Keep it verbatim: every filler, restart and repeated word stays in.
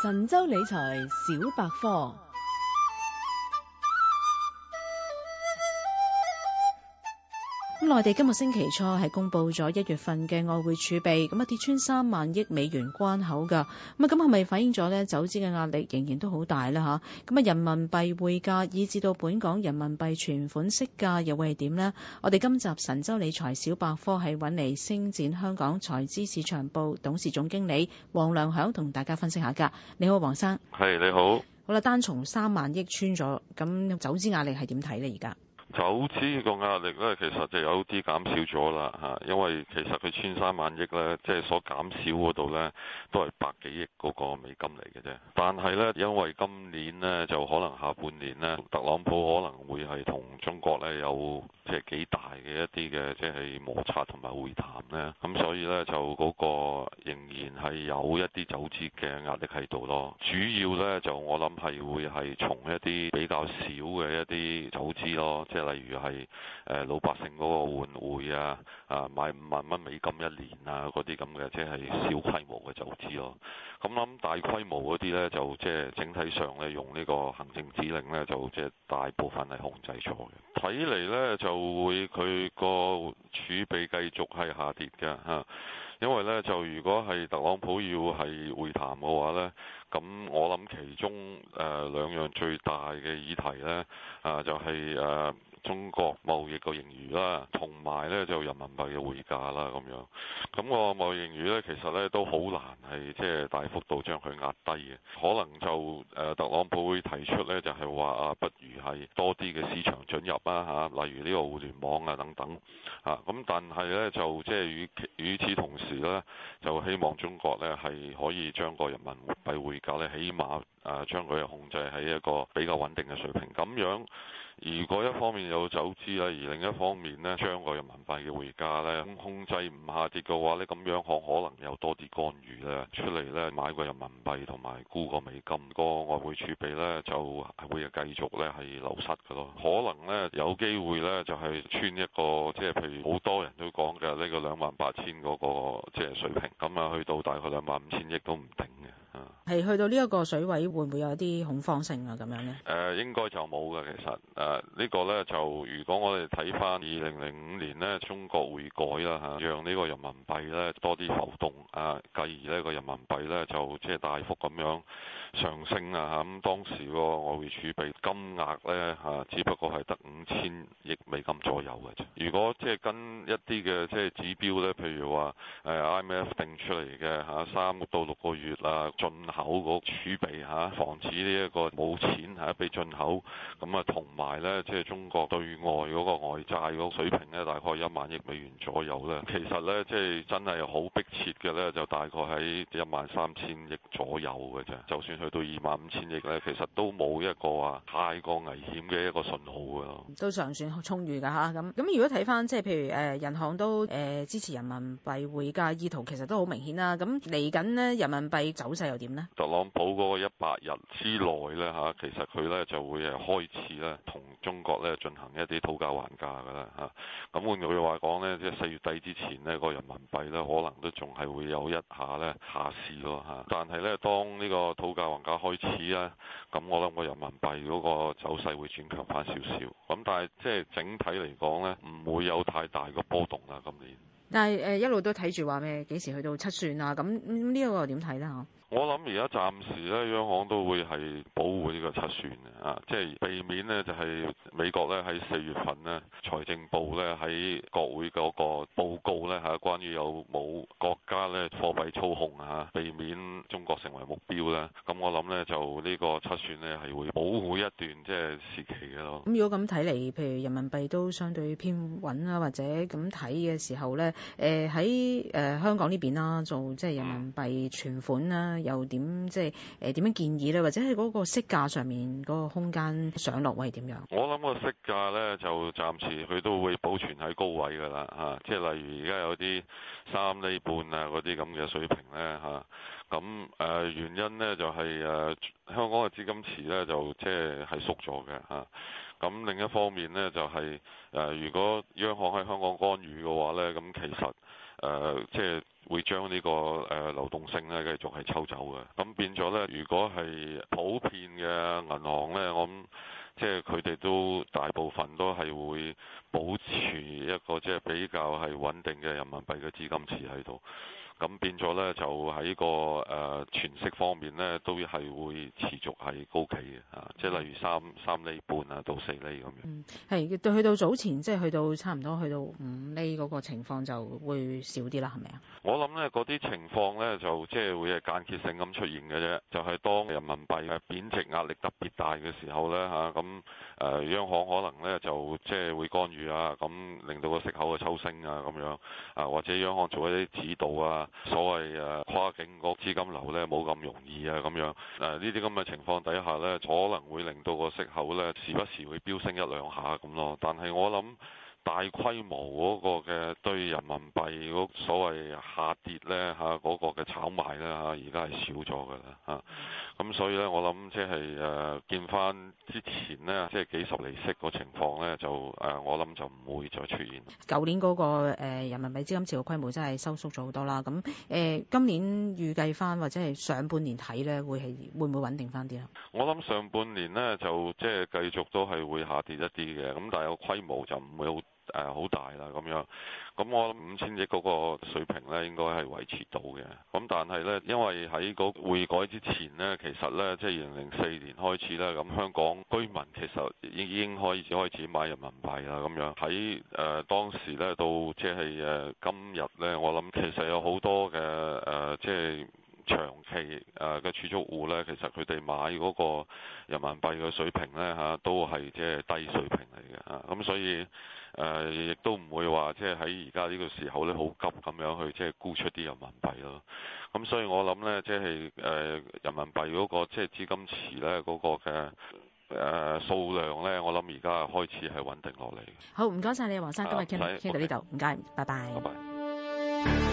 神州理財小百科。咁內地今個星期初係公布咗一月份嘅外匯儲備，咁啊跌穿三萬億美元關口噶，咁啊咁係咪反映咗咧走資嘅壓力仍然都好大咧吓？咁啊人民幣匯價以至到本港人民幣存款息價又會係點呢？我哋今集神州理財小百科係揾嚟星展香港財資市場部董事總經理黃良響同大家分析下噶。你好，黃生。 係，你好。 好啦，單從三萬億穿咗，咁走資壓力係點睇咧？而家？ 走資個壓力咧，其實就有啲減少咗啦嚇，因為其實佢穿三萬億咧，即係所減少嗰度咧，都係百幾億嗰個美金嚟嘅啫。但係咧，因為今年咧就可能下半年咧，特朗普可能會係同中國咧有即係幾大嘅一啲嘅即係摩擦同埋會談咧，咁所以咧就嗰個仍然係有一啲走資嘅壓力喺度咯。主要咧就我諗係會係從一啲比較少嘅一啲走資咯，即係。例如係誒老百姓嗰個換匯啊，啊買五萬蚊美金一年啊，嗰啲咁嘅即係小規模嘅走資咯。咁諗大規模嗰啲咧，就即係整體上咧用呢個行政指令咧，就即係大部分係控制咗嘅。睇嚟咧就會佢個儲備繼續係下跌嘅嚇。因為咧就如果係特朗普要係會談嘅話咧，咁我諗其中誒、呃、兩樣最大嘅議題咧，啊、呃、就係、是、誒。呃中國貿易個盈餘啦，同埋咧就人民幣嘅匯價啦咁樣。咁個貿易盈餘咧，其實咧都好難係即係大幅度將佢壓低嘅。可能就誒、呃、特朗普會提出咧，就係話啊，不如係多啲嘅市場准入啊嚇，例如呢個互聯網啊等等啊。咁但係咧就即係與與此同時咧，就希望中國咧係可以將個人民幣匯價咧，起碼誒將佢控制喺一個比較穩定嘅水平。咁樣如果一方面有走資啦，而另一方面呢，將個人民幣嘅匯價呢控制唔下跌嘅話呢，咁樣可可能有多啲干預咧出嚟呢，買個人民幣同埋沽個美金，個外匯儲備呢就會繼續呢係流失嘅咯。可能呢，有機會呢就係穿一個即係譬如好多人都講嘅呢個兩萬八千嗰個即係水平，咁啊去到大概兩萬五千億都唔定嘅。 係去到呢一個水位，會唔會有啲恐慌性啊？咁樣呢？ 誒、呃、應該就冇嘅，其實誒、呃這個、呢個咧就如果我哋睇翻二零零五年呢，中國匯改啦嚇，讓呢個人民幣咧多啲浮動啊，繼而呢個人民幣咧就即係大幅咁樣上升啊嚇，咁當時個外匯儲備金額咧嚇，只不過係得五千億美金左右嘅啫。如果即係跟一啲嘅即係指標咧，譬如話誒 I M F 定出嚟嘅嚇三到六個月啊進口個儲備嚇，防止呢一個冇錢嚇俾進口，咁啊同埋咧即係中國對外嗰個外債嗰個水平咧，大概一萬億美元左右咧。其實咧即係真係好迫切嘅咧，就大概喺一萬三千億左右嘅啫。就算去到二萬五千億咧，其實都冇一個話太過危險嘅一個信號嘅咯。 都尚算充裕㗎嚇。咁咁如果睇翻即係譬如誒銀行都誒支持人民幣匯價意圖，其實都好明顯啦。咁嚟緊呢，人民幣走勢又點呢？ 特朗普嗰個一百日之內咧嚇，其實佢咧就會誒開始咧同中國咧進行一啲討價還價㗎啦嚇。咁換句話講咧，即係四月底之前呢個人民幣咧可能都仲係會有一下咧下試咯嚇。但係咧當呢個討價還價開始咧，咁我諗個人民幣嗰個走勢會轉強翻少少。咁但係即係整體嚟講咧，唔會有太大嘅波動啦今年。 但係誒一路都睇住話咩幾時去到七算啊？咁呢一個又點睇咧嚇？ 我諗而家暫時咧，央行都會係保護呢個七算嘅啊，即係避免呢，就係美國咧喺四月份呢，財政部咧喺國會嗰個報告咧嚇，關於有冇國家咧貨幣操控啊，避免中國成為目標咧。咁我諗咧就呢個七算咧係會保護一段即係時期嘅咯。 咁如果咁睇嚟，譬如人民幣都相對偏穩啊，或者咁睇嘅時候咧，誒喺誒香港呢邊啦，做即係人民幣存款啦。又點即係誒點樣建議咧？或者係嗰個息價上面嗰個空間上落位係點樣？我諗個息價咧就暫時佢都會保存喺高位㗎啦嚇，即係例如而家有啲三厘半啊嗰啲咁嘅水平咧嚇。咁誒、呃、原因咧就係、是、誒、呃、香港嘅資金池咧就即係係縮咗嘅嚇。咁、啊、另一方面咧就係、是、誒、呃、如果央行喺香港干預嘅話咧，咁其實誒即係會將呢個誒流動性咧繼續係抽走嘅。咁變咗咧，如果係普遍嘅銀行咧，我諗即係佢哋都大部分都係會保持一個即係比較係穩定嘅人民幣嘅資金池喺度。咁變咗咧，就喺個誒存息方面咧，都係會持續係高企嘅嚇，即係例如三三厘半啊到四厘咁樣。 嗯，係對，去到早前即係去到差唔多去到五厘嗰個情況就會少啲啦，係咪啊？ 我諗咧嗰啲情況咧就即係會係間歇性咁出現嘅啫，就係、是、當人民幣嘅貶值壓力特別大嘅時候咧嚇，咁、啊、誒央行可能咧就即係會干預啊，咁令到個息口嘅抽升啊咁樣啊，或者央行做一啲指導啊。所謂誒跨境個資金流咧冇咁容易啊咁樣，誒呢啲咁嘅情況底下咧，可能會令到個息口咧時不時會飆升一兩下咁咯。但係我諗大規模嗰個嘅對人民幣嗰所謂下跌咧嚇嗰個嘅炒賣咧嚇，而家係少咗㗎啦嚇。咁所以咧，我諗即係誒見翻之前呢，即係幾十厘息個情況咧，就誒我諗就唔會再出現。 舊年嗰個誒人民幣資金池嘅規模真係收縮咗好多啦。咁誒今年預計翻或者係上半年睇咧，會係會唔會穩定翻啲啊？ 我諗上半年呢，就即係繼續都係會下跌一啲嘅，咁但係個規模就唔會好誒好大啦咁樣。咁我諗五千億嗰個水平咧，應該係維持到嘅。咁但係咧，因為喺個匯改之前呢，其實咧即係二零零四年開始咧，咁香港居民其實已經開始開始買人民幣啦咁樣。喺誒、呃、當時咧到即係誒今日咧，我諗其實有好多嘅誒、呃、即係。長期誒嘅儲蓄戶咧，其實佢哋買嗰個人民幣嘅水平咧嚇，都係即係低水平嚟嘅嚇。咁所以誒，亦都唔會話即係喺而家呢個時候咧，好急咁樣去即係沽出啲人民幣咯。咁所以我諗咧，即係誒人民幣嗰個即係資金池咧嗰個嘅誒數量咧，我諗而家開始係穩定落嚟。 好，唔該晒你，黃生，今日傾傾到呢度，唔該，拜拜。 拜拜。